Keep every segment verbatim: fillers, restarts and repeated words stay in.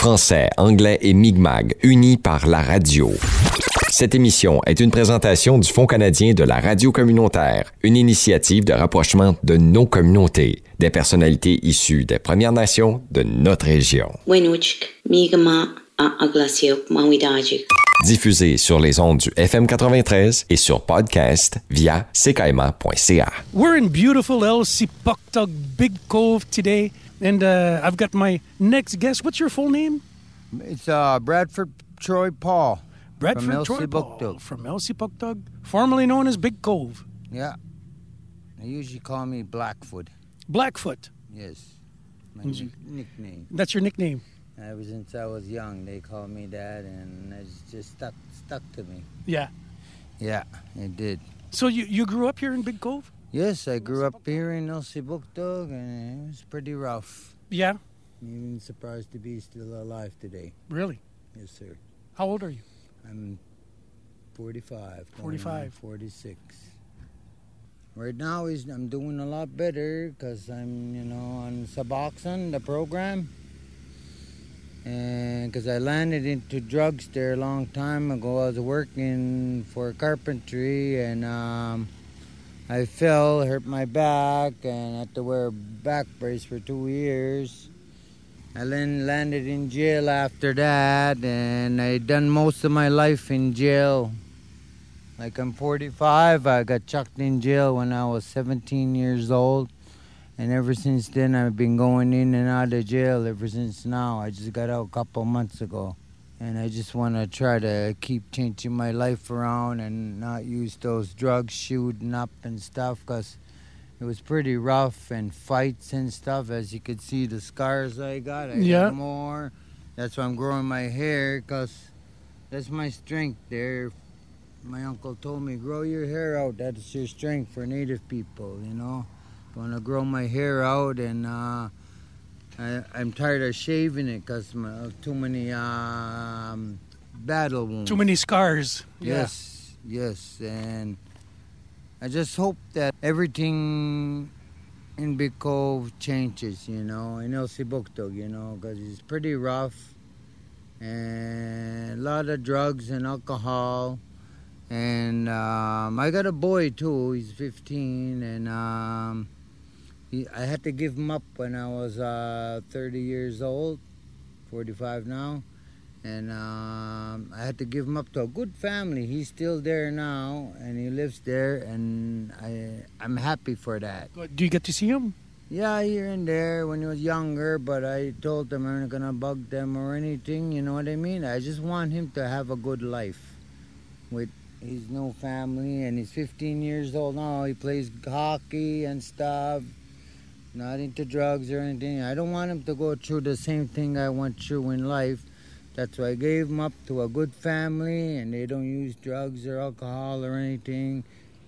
Français, anglais et Mi'kmaq, unis par la radio. Cette émission est une présentation du Fonds canadien de la radio communautaire, une initiative de rapprochement de nos communautés, des personnalités issues des Premières Nations de notre région. Diffusé sur les ondes du F M quatre-vingt-treize et sur podcast via c k m a point c a. We're in beautiful Elsipogtog, Big Cove today, and uh, I've got my next guest. What's your full name? It's uh, Bradford Troy Paul. Bradford Troy Paul from Elsipogtog, formerly known as Big Cove. Yeah. They usually call me Blackfoot. Blackfoot. Yes. My n- nickname. That's your nickname. Ever since I was young, they called me that, and it's just stuck stuck to me. Yeah. Yeah, it did. So you, you grew up here in Big Cove? Yes, I grew up here in Elsipogtog, and it was pretty rough. Yeah. I'm even surprised to be still alive today. Really? Yes, sir. How old are you? I'm forty-five. forty-five. forty-six. Right now, is I'm doing a lot better because I'm, you know, on Suboxone, the program. And because I landed into drugs there a long time ago. I was working for carpentry, and um, I fell, hurt my back, and had to wear a back brace for two years. I then landed in jail after that, and I done most of my life in jail. Like I'm forty-five, I got chucked in jail when I was seventeen years old. And ever since then, I've been going in and out of jail ever since now. I just got out a couple months ago. And I just want to try to keep changing my life around and not use those drugs shooting up and stuff, because it was pretty rough, and fights and stuff. As you could see, the scars I got, I Yeah. got more. That's why I'm growing my hair, because that's my strength there. My uncle told me, grow your hair out. That's your strength for Native people, you know. I want to grow my hair out, and uh, I, I'm tired of shaving it because of too many um, battle wounds. Too many scars. Yes, yes. And I just hope that everything in Big Cove changes, you know, in Elsipogtog, you know, because it's pretty rough, and a lot of drugs and alcohol. And um, I got a boy too. He's fifteen, and um, he, I had to give him up when I was uh, thirty years old, forty-five now, and um, I had to give him up to a good family. He's still there now, and he lives there, and I I'm happy for that. Do you get to see him? Yeah, here and there when he was younger, but I told them I'm not gonna bug them or anything. You know what I mean? I just want him to have a good life with. He's no family, and he's fifteen years old now. He plays hockey and stuff, not into drugs or anything. I don't want him to go through the same thing I went through in life. That's why I gave him up to a good family, and they don't use drugs or alcohol or anything.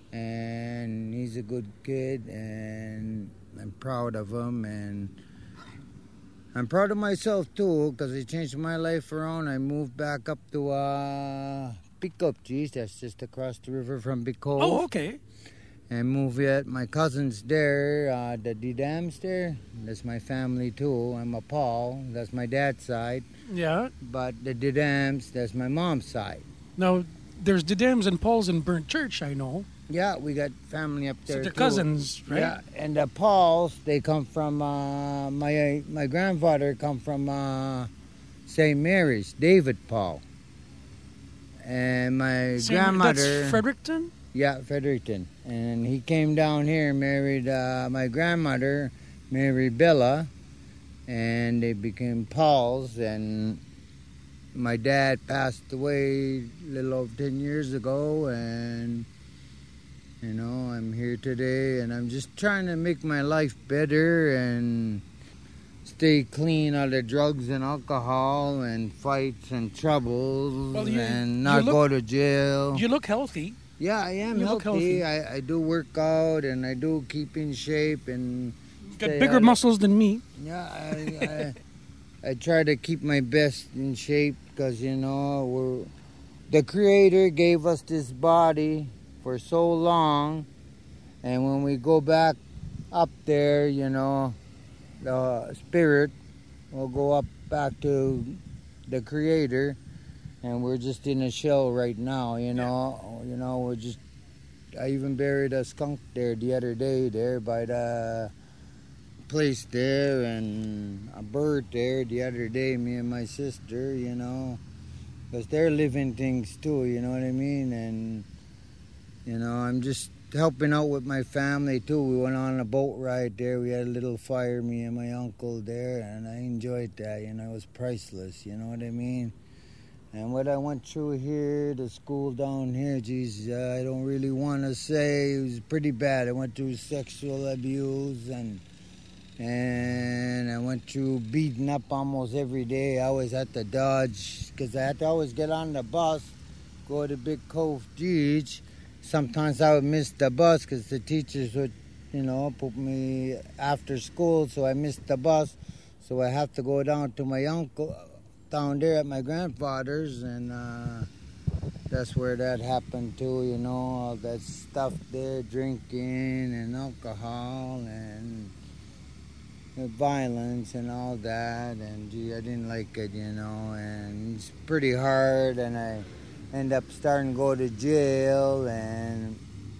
And he's a good kid, and I'm proud of him, and I'm proud of myself too, because he changed my life around. I moved back up to uh Pickup, geez, that's just across the river from Big Cove. Oh, okay. And moved at my cousin's there, uh, the D-Dams there. That's my family too. I'm a Paul. That's my dad's side. Yeah. But the D-Dams, that's my mom's side. Now, there's the Dams and Pauls in Burnt Church, I know. Yeah, we got family up there So they're too. cousins, right? Yeah, and the Pauls, they come from, uh, my my grandfather come from uh, Saint Mary's, David Paul. And my Same- grandmother... That's Fredericton? Yeah, Fredericton. And he came down here, married uh, my grandmother, married Bella, and they became Pauls. And my dad passed away a little over ten years ago, and, you know, I'm here today, and I'm just trying to make my life better and stay clean out of drugs and alcohol and fights and troubles, Well, you- and not you look- go to jail. You look healthy. Yeah, I am You look healthy. healthy. I, I do work out, and I do keep in shape, and You got stay bigger out of- muscles than me. Yeah, I, I, I try to keep my best in shape because, you know, we're, the Creator gave us this body for so long, and when we go back up there, you know, the spirit will go up back to the Creator, and we're just in a shell right now. You know, yeah. you know, we're just. I even buried a skunk there the other day, there by the place there, and a bird there the other day. Me and my sister, you know, because they're living things too. You know what I mean? And you know, I'm just helping out with my family too. We went on a boat ride there. We had a little fire, me and my uncle there, and I enjoyed that. You know, it was priceless. You know what I mean? And what I went through here, the school down here, geez, uh, I don't really want to say. It was pretty bad. I went through sexual abuse, and and I went through beating up almost every day. I always had to dodge because I had to always get on the bus, go to Big Cove Beach. Sometimes I would miss the bus because the teachers would, you know, put me after school, so I missed the bus. So I have to go down to my uncle down there at my grandfather's, and uh, that's where that happened too, you know, all that stuff there, drinking and alcohol and violence and all that, and gee, I didn't like it, you know, and it's pretty hard, and I ended up starting to go to jail, and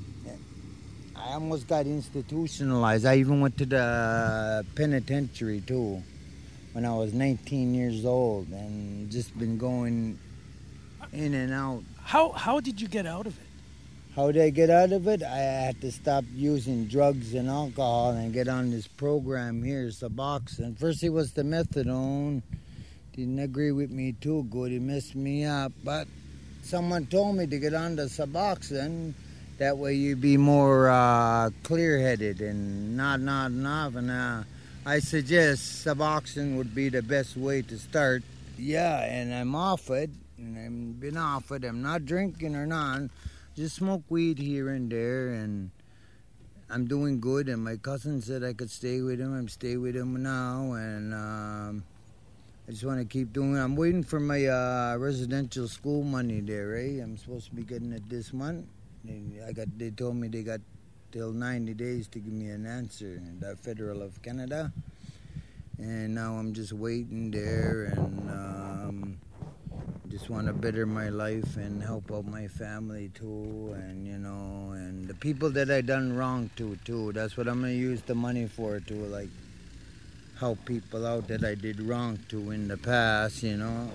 I almost got institutionalized. I even went to the penitentiary too when I was nineteen years old, and just been going in and out. How how did you get out of it? How did I get out of it? I had to stop using drugs and alcohol and get on this program here, Suboxone. First it was the methadone. Didn't agree with me too good. It messed me up. But someone told me to get on the Suboxone. That way you'd be more uh, clear-headed and not nodding off. And uh, I suggest Suboxone would be the best way to start. Yeah, and I'm off it, and I've been off it. I'm not drinking or none. Just smoke weed here and there, and I'm doing good. And my cousin said I could stay with him. I'm staying with him now, and um, I just want to keep doing it. I'm waiting for my uh, residential school money there, eh? I'm supposed to be getting it this month. They, I got. They told me they got till ninety days to give me an answer, the Federal of Canada. And now I'm just waiting there, and um, just want to better my life and help out my family too, and you know, and the people that I done wrong to too. That's what I'm gonna use the money for, to like help people out that I did wrong to in the past, you know.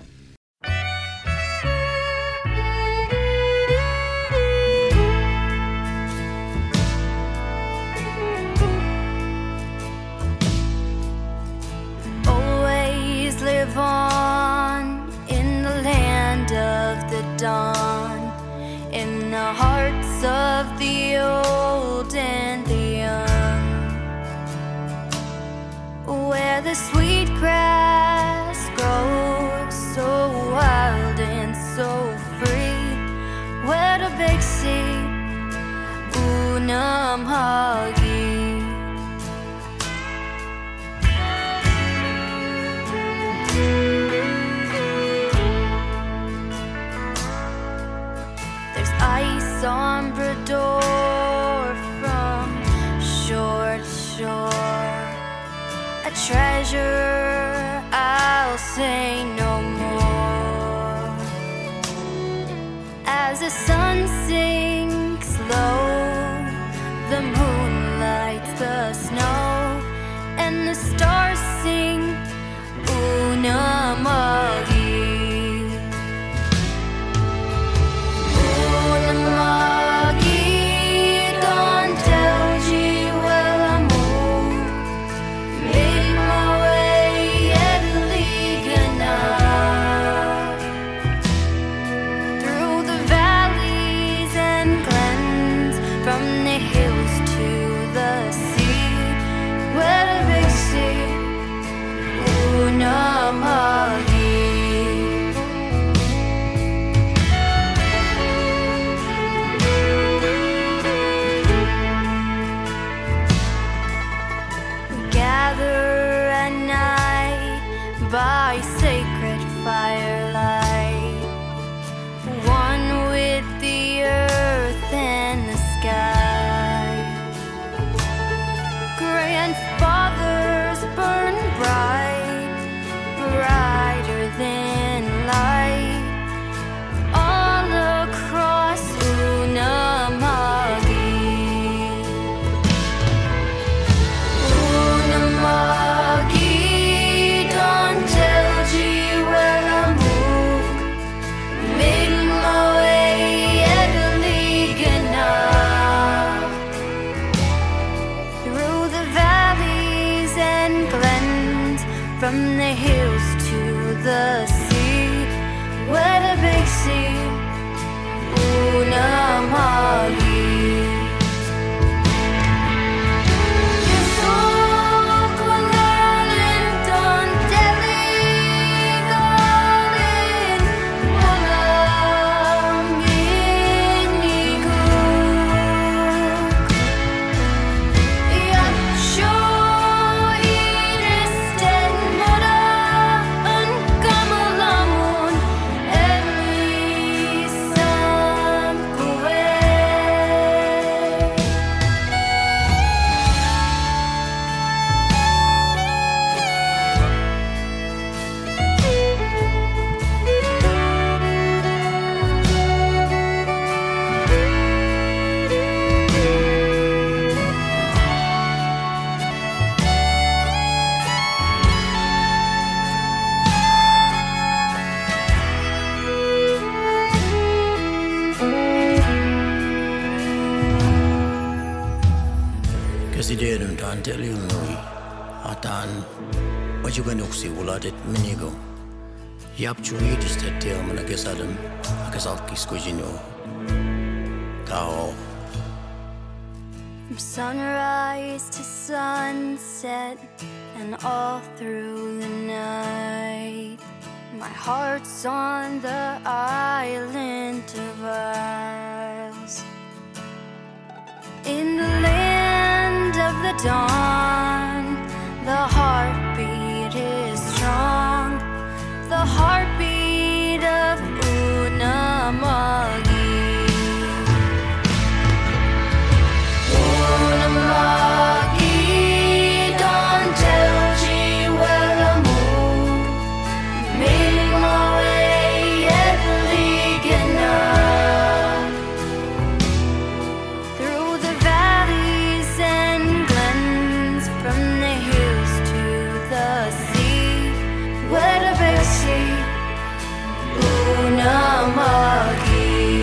Always live on in the land of the dawn, in the hearts of the old and the young, where the sweet grass grows so wild and so free, where the big sea, Unamhagi. There's ice on Brador from shore to shore, a treasure I'll say no more. As the sun sinks low, the moon lights the snow, and the stars sing Unamagi. By sacred firelight, one with the earth and the sky. Grandfathers burn bright, brighter than the sea, where the big sea, Unamali. Kesideerun taan teliunui ataan wajuganuksi uladet minigo yapchuidiste teomana kesadam akasalkiskujino tao. From sunrise to sunset and all through the night, my heart's on the island of Isles. In the land of the dawn, the heartbeat is strong, the heartbeat of Unamali. Unamali, don't tell G where the moon made my way at Ligana. Through the valleys and glens, from the hills to the sea, where the big sea, Unamali.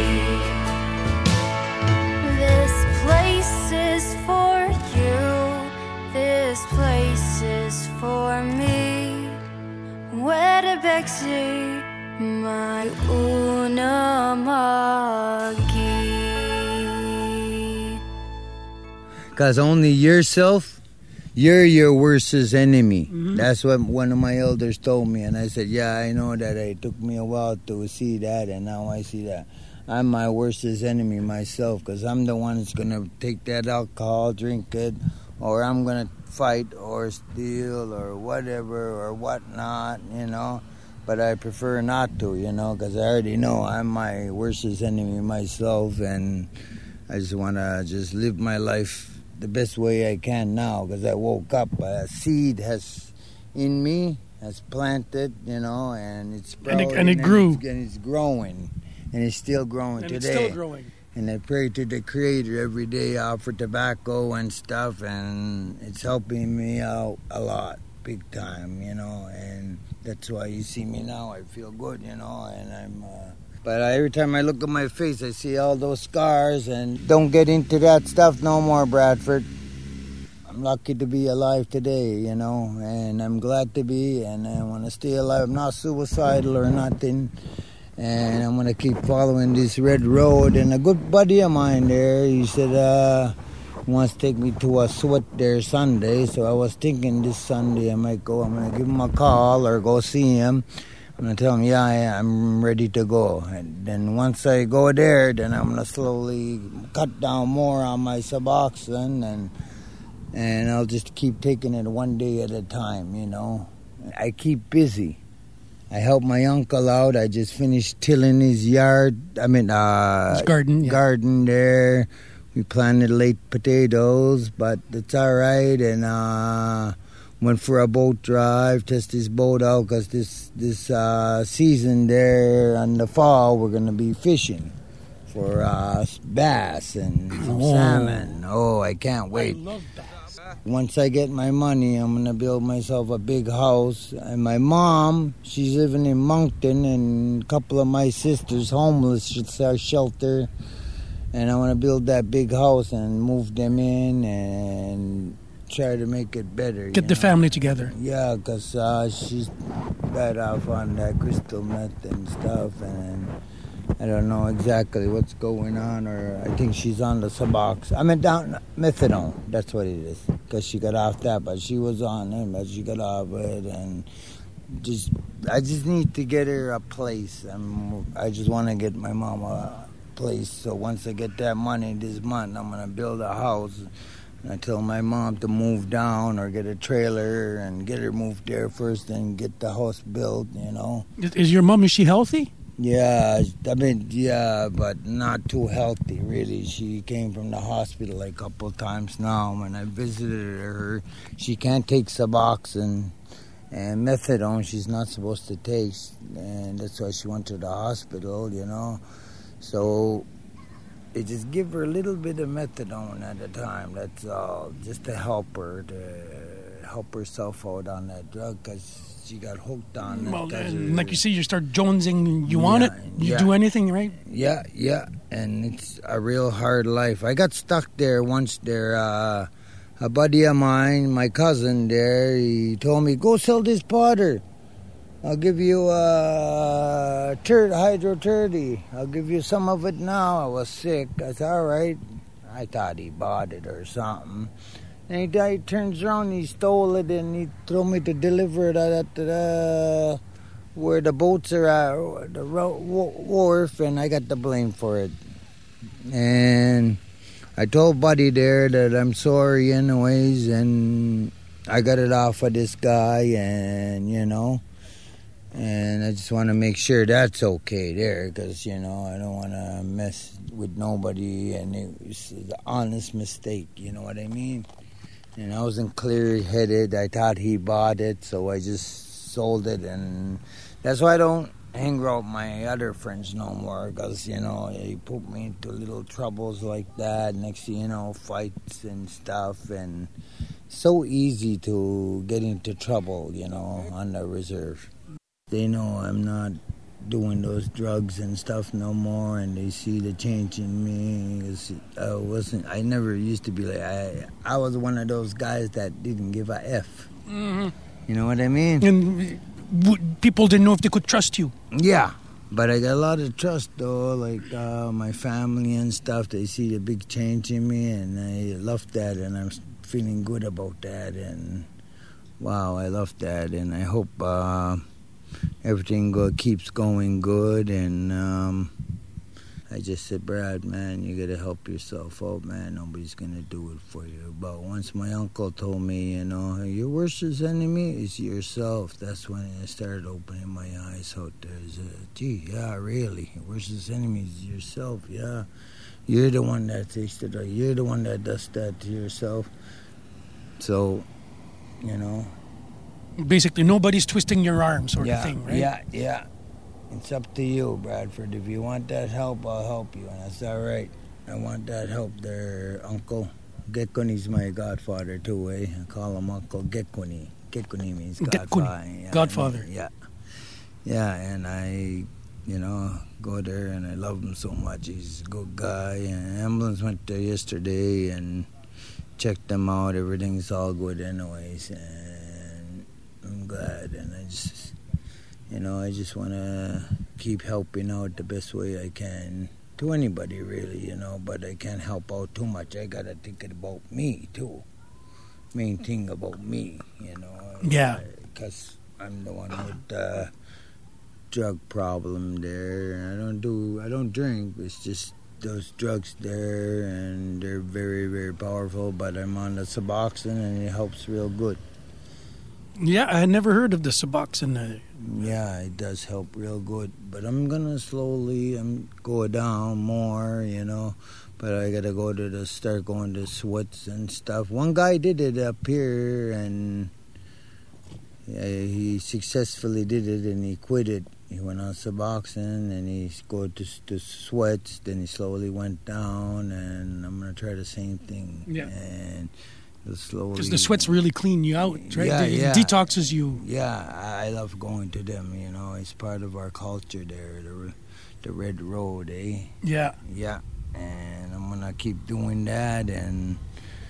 This place is for you, this place is for me, where the big sea, my Unamali. Because only yourself, you're your worst enemy. Mm-hmm. That's what one of my elders told me. And I said, yeah, I know that. It took me a while to see that, and now I see that. I'm my worst enemy myself, because I'm the one that's going to take that alcohol, drink it, or I'm going to fight or steal or whatever or whatnot, you know. But I prefer not to, you know, because I already know I'm my worst enemy myself, and I just want to just live my life the best way I can now, because I woke up, a seed has in me, has planted, you know, and it's And it- sprouting, and it grew. it's, and it's growing, and it's still growing And today. it's still growing. And I pray to the Creator every day, I offer tobacco and stuff, and it's helping me out a lot, big time, you know, and that's why you see me now. I feel good, you know, and I'm... Uh, but every time I look at my face, I see all those scars, and don't get into that stuff no more, Bradford. I'm lucky to be alive today, you know, and I'm glad to be, and I want to stay alive. I'm not suicidal or nothing, and I'm going to keep following this red road. And a good buddy of mine there, he said, uh, he wants to take me to a sweat there Sunday, so I was thinking this Sunday I might go. I'm going to give him a call or go see him. I'm going to tell him, yeah, I, I'm ready to go. And then once I go there, then I'm going to slowly cut down more on my Suboxone, and and I'll just keep taking it one day at a time, you know. I keep busy. I help my uncle out. I just finished tilling his yard. I mean, uh, His garden, yeah. garden there. We planted late potatoes, but it's all right. And uh, went for a boat drive, test his boat out, because this this uh, season there in the fall we're going to be fishing for uh, bass and some Oh. salmon. Oh, I can't wait. I love that. Once I get my money, I'm going to build myself a big house. And my mom, she's living in Moncton, and a couple of my sisters, homeless, should start shelter. And I want to build that big house and move them in and try to make it better. Get the know? family together. Yeah, because uh, she's bad off on that crystal meth and stuff, and I don't know exactly what's going on, or I think she's on the Subox. I mean, down methadone. That's what it is, because she got off that, but she was on it, but she got off it, and just I just need to get her a place. I'm, I just want to get my mom a place. So once I get that money this month, I'm gonna build a house. And I tell my mom to move down or get a trailer and get her moved there first, and get the house built. You know. Is, is your mom, is she healthy? Yeah, I mean, yeah, but not too healthy, really. She came from the hospital like a couple of times now. When I visited her, she can't take Suboxone and methadone. She's not supposed to take, and that's why she went to the hospital, you know. So they just give her a little bit of methadone at a time, that's all, just to help her, to help herself out on that drug, because she got hooked on it. Well, and her, like you say, you start jonesing, you want Yeah, it, you yeah. do anything, right? Yeah, yeah, and it's a real hard life. I got stuck there once there. Uh, a buddy of mine, my cousin there, he told me, go sell this powder. I'll give you a turd, hydro thirty. I'll give you some of it now. I was sick. I said, all right. I thought he bought it or something. And he, he turns around, he stole it, and he told me to deliver it at the, where the boats are at, the wharf, and I got the blame for it. And I told Buddy there that I'm sorry anyways, and I got it off of this guy, and, you know, and I just want to make sure that's okay there, because, you know, I don't want to mess with nobody, and it was an honest mistake, you know what I mean? And I wasn't clear-headed. I thought he bought it, so I just sold it, and that's why I don't hang around my other friends no more, because, you know, he put me into little troubles like that. Next thing you know, fights and stuff, and so easy to get into trouble, you know, on the reserve. They know I'm not doing those drugs and stuff no more, and they see the change in me. 'Cause I wasn't. I never used to be like. I. I was one of those guys that didn't give a f. Mm-hmm. You know what I mean? And w- people didn't know if they could trust you. Yeah, but I got a lot of trust though. Like uh, my family and stuff. They see the big change in me, and I love that, and I'm feeling good about that. And wow, I love that, and I hope. Uh, Everything go, keeps going good, and um, I just said, Brad, man, you got to help yourself out, man. Nobody's going to do it for you. But once my uncle told me, you know, your worst enemy is yourself, that's when I started opening my eyes out there. I said, gee, yeah, really, your worst enemy is yourself, yeah. You're the one that takes it, you're the one that does that to yourself. So, you know. Basically, nobody's twisting your arm, sort yeah, of thing, right? Yeah, yeah. It's up to you, Bradford. If you want that help, I'll help you, and that's all right. I want that help there, Uncle. Gekuni's my godfather, too, eh? I call him Uncle Gekuni. Gekuni means godfather. Yeah, Godfather. I mean, yeah. Yeah, and I, you know, go there, and I love him so much. He's a good guy. And ambulance went there yesterday and checked them out. Everything's all good anyways, and I'm glad, and I just, you know, I just want to keep helping out the best way I can to anybody, really, you know, but I can't help out too much. I got to think about me, too. Main thing about me, you know. Yeah. Because I'm the one with the drug problem there. I don't do, I don't drink. It's just those drugs there, and they're very, very powerful, but I'm on the Suboxone, and it helps real good. Yeah, I had never heard of the Suboxone. Uh, Yeah, it does help real good. But I'm going to slowly I'm go down more, you know. But I got to go to the, start going to sweats and stuff. One guy did it up here, and yeah, he successfully did it, and he quit it. He went on Suboxone, and he go to, to sweats. Then he slowly went down, and I'm going to try the same thing. Yeah. And slowly. Because the sweats really clean you out, right? Yeah, it yeah. detoxes you. Yeah, I love going to them, you know. It's part of our culture there, the, the Red Road, eh? Yeah. Yeah, and I'm going to keep doing that, and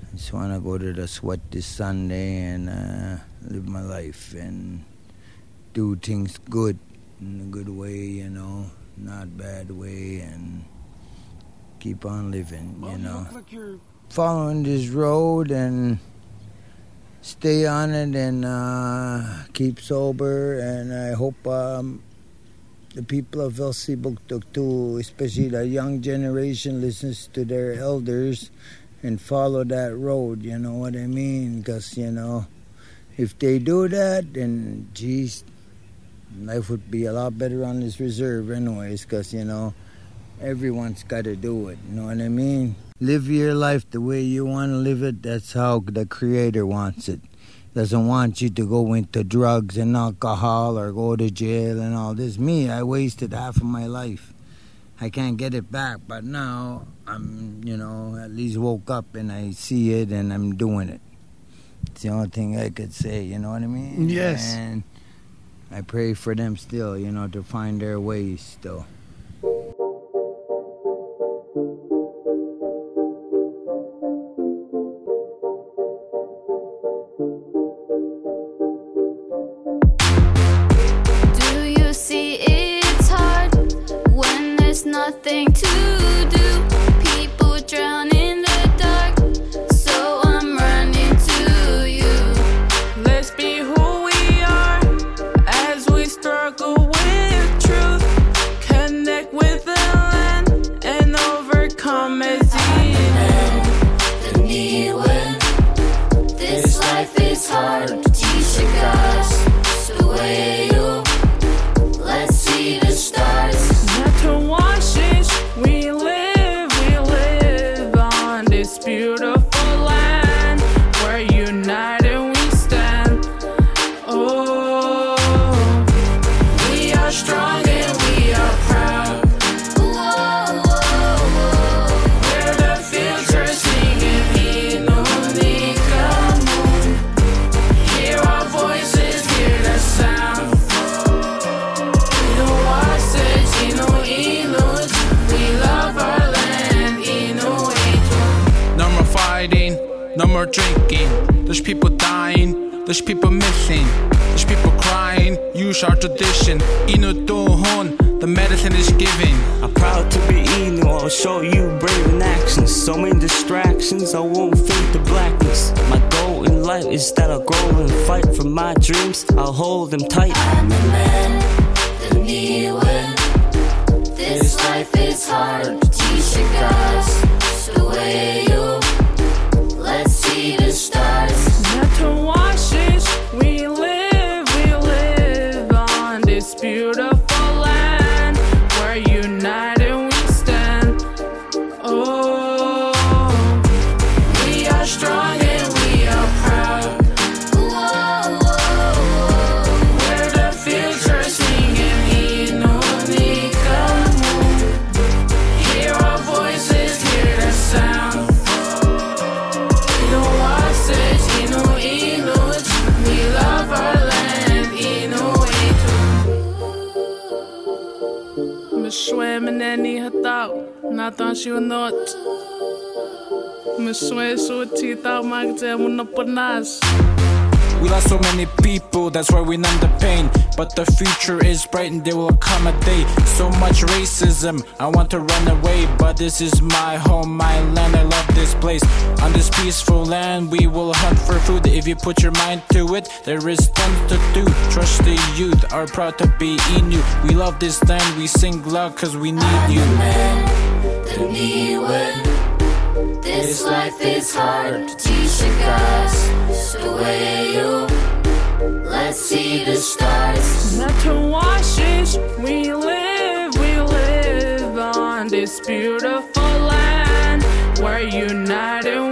I just want to go to the sweat this Sunday and uh, live my life and do things good, in a good way, you know, not bad way, and keep on living, you know. Like you're... Following this road and stay on it and uh, keep sober, and I hope um, the people of Elsipogtog too, especially the young generation, listens to their elders and follow that road, you know what I mean? Because, you know, if they do that, then, geez, life would be a lot better on this reserve anyways, because, you know, everyone's got to do it, you know what I mean? Live your life the way you want to live it. That's how the Creator wants it. Doesn't want you to go into drugs and alcohol or go to jail and all this. Me, I wasted half of my life. I can't get it back, but now I'm, you know, at least woke up and I see it and I'm doing it. It's the only thing I could say, you know what I mean? Yes. And I pray for them still, you know, to find their ways still. Nothing to do, people drown in the dark, so I'm running to you. Let's be who we are as we struggle with truth, connect with the land and overcome as evil. The need when this life is hard, teach you guys the way you let's see the stars. Not to wash it, we live, we live on this beautiful land where united we stand. Oh, we are strong and we are proud. Whoa, whoa, whoa. We're the future singing Inunika Moon. Hear our voices, hear the sound. No more drinking, there's people dying, there's people missing, there's people crying, use our tradition. Inu Tuhun, the medicine is given. I'm proud to be Inu, I'll show you brave in actions. So many distractions, I won't fake the blackness. My goal in life is that I'll grow and fight for my dreams, I'll hold them tight. I'm the man, the need when this life is hard, teach you guys the way you let's see the stars. Not to wash it, we live, we live on this beautiful land where united we stand. Oh, we are strong and we are proud. Whoa, whoa, whoa. We're the future singing Inunika Moon. Hear our voices, hear the sound. Swim any hatao, natan siu not. Miswe su tita magte munapanas. We lost so many people, that's why we numb the pain. But the future is bright and there will come a day. So much racism, I want to run away. But this is my home, my land, I love this place. On this peaceful land, we will hunt for food. If you put your mind to it, there is tons to do. Trust the youth, are proud to be Inu. We love this land, we sing loud cause we need I'm you. The man, the need when this life is hard, teach you guys the way you let's see the stars. Not to wash it, we live, we live on this beautiful land where united